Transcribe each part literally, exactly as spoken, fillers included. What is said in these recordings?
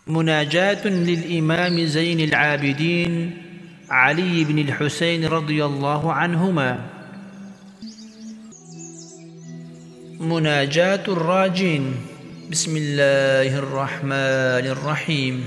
مناجاة للإمام زين العابدين علي بن الحسين رضي الله عنهما. مناجاة الراجين. بسم الله الرحمن الرحيم.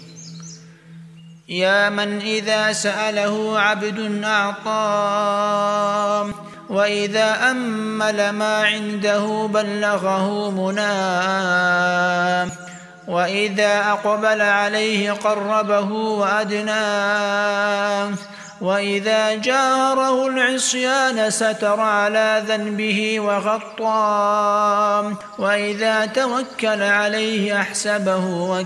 يا من إذا سأله عبد أعطاه، وإذا أمل ما عنده بلغه مناه، وإذا أقبل عليه قربه وأدناه، وإذا جاره العصيان ستر على ذنبه وغطاه، وإذا توكل عليه أحسبه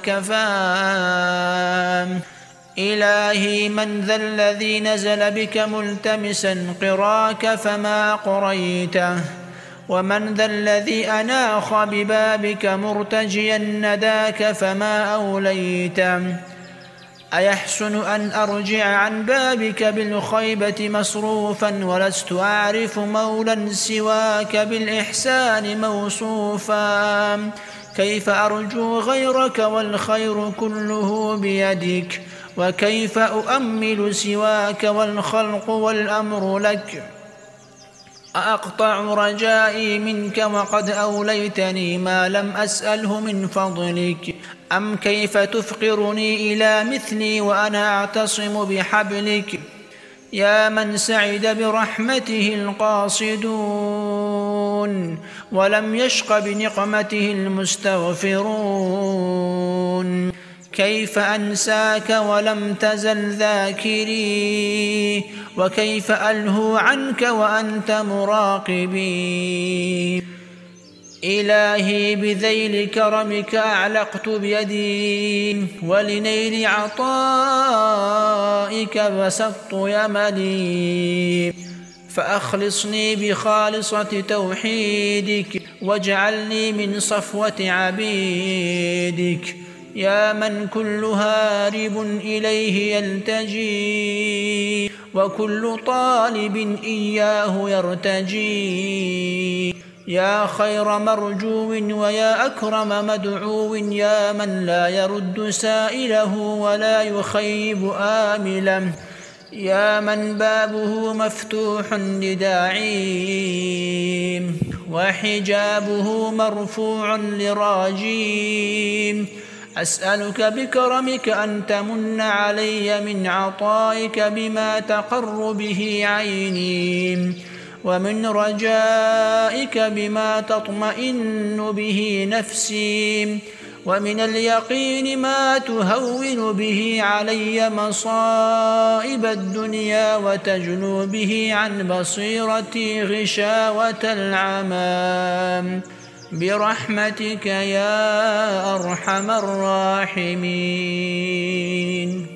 وكفاه. إلهي من ذا الذي نزل بك ملتمسا قراك فما قريته، ومن ذا الذي أناخ ببابك مرتجيا نداك فما أوليته. أيحسن أن أرجع عن بابك بالخيبة مصروفا، ولست أعرف مولا سواك بالإحسان موصوفا. كيف أرجو غيرك والخير كله بيدك، وكيف أؤمل سواك والخلق والأمر لك. أقطع رجائي منك وقد أوليتني ما لم أسأله من فضلك، أم كيف تفقرني إلى مثلي وأنا أعتصم بحبلك. يا من سعد برحمته القاصدون، ولم يشق بنقمته المستغفرون. كيف أنساك ولم تزل ذاكري، وكيف ألهو عنك وأنت مراقبي. إلهي بذيل كرمك أعلقت بيدي، ولنيل عطائك بسطت يملي. فأخلصني بخالصة توحيدك، واجعلني من صفوة عبيدك. يا من كل هارب إليه يلتجي، وكل طالب إياه يرتجي. يا خير مرجو ويا أكرم مدعو، يا من لا يرد سائله ولا يخيب آمله. يا من بابه مفتوح لداعي، وحجابه مرفوع لراجي. أسألك بكرمك أن تمن علي من عطائك بما تقر به عيني، ومن رجائك بما تطمئن به نفسي، ومن اليقين ما تهون به علي مصائب الدنيا، وتجلو به عن بصيرتي غشاوة العمى، برحمتك يا أرحم الراحمين.